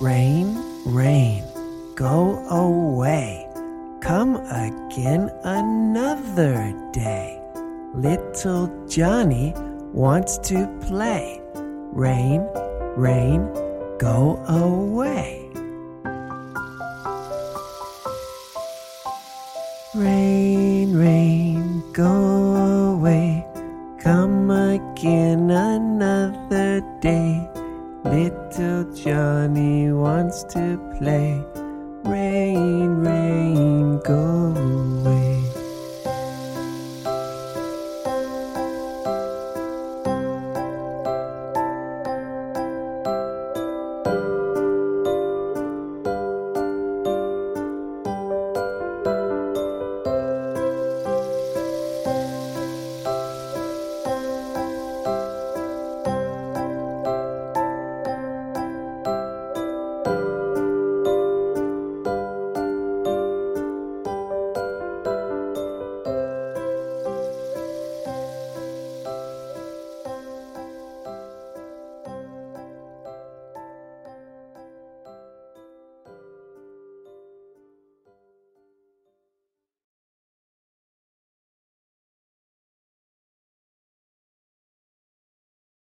Rain, rain, go away. Come again another day. Little Johnny wants to play. Rain, rain, go away. Rain, rain, go away. Come again another day. Little Johnny wants to play. Rain, rain, go